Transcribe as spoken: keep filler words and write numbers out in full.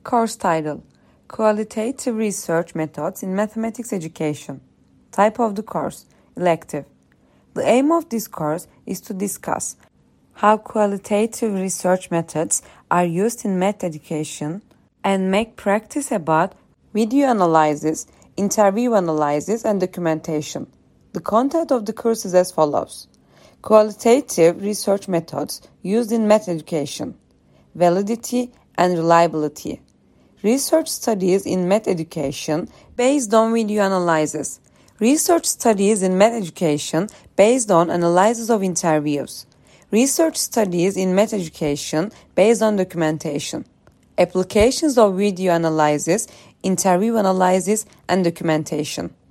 Course title: Qualitative Research Methods in Mathematics Education. Type of the course: elective. The aim of this course is to discuss how qualitative research methods are used in math education and make practice about video analysis, interview analysis, and documentation. The content of the course is as follows: Qualitative research methods used in math education, validity and reliability. Research studies in math education based on video analysis. Research studies in math education based on analysis of interviews. Research studies in math education based on documentation. Applications of video analysis, interview analysis, and documentation.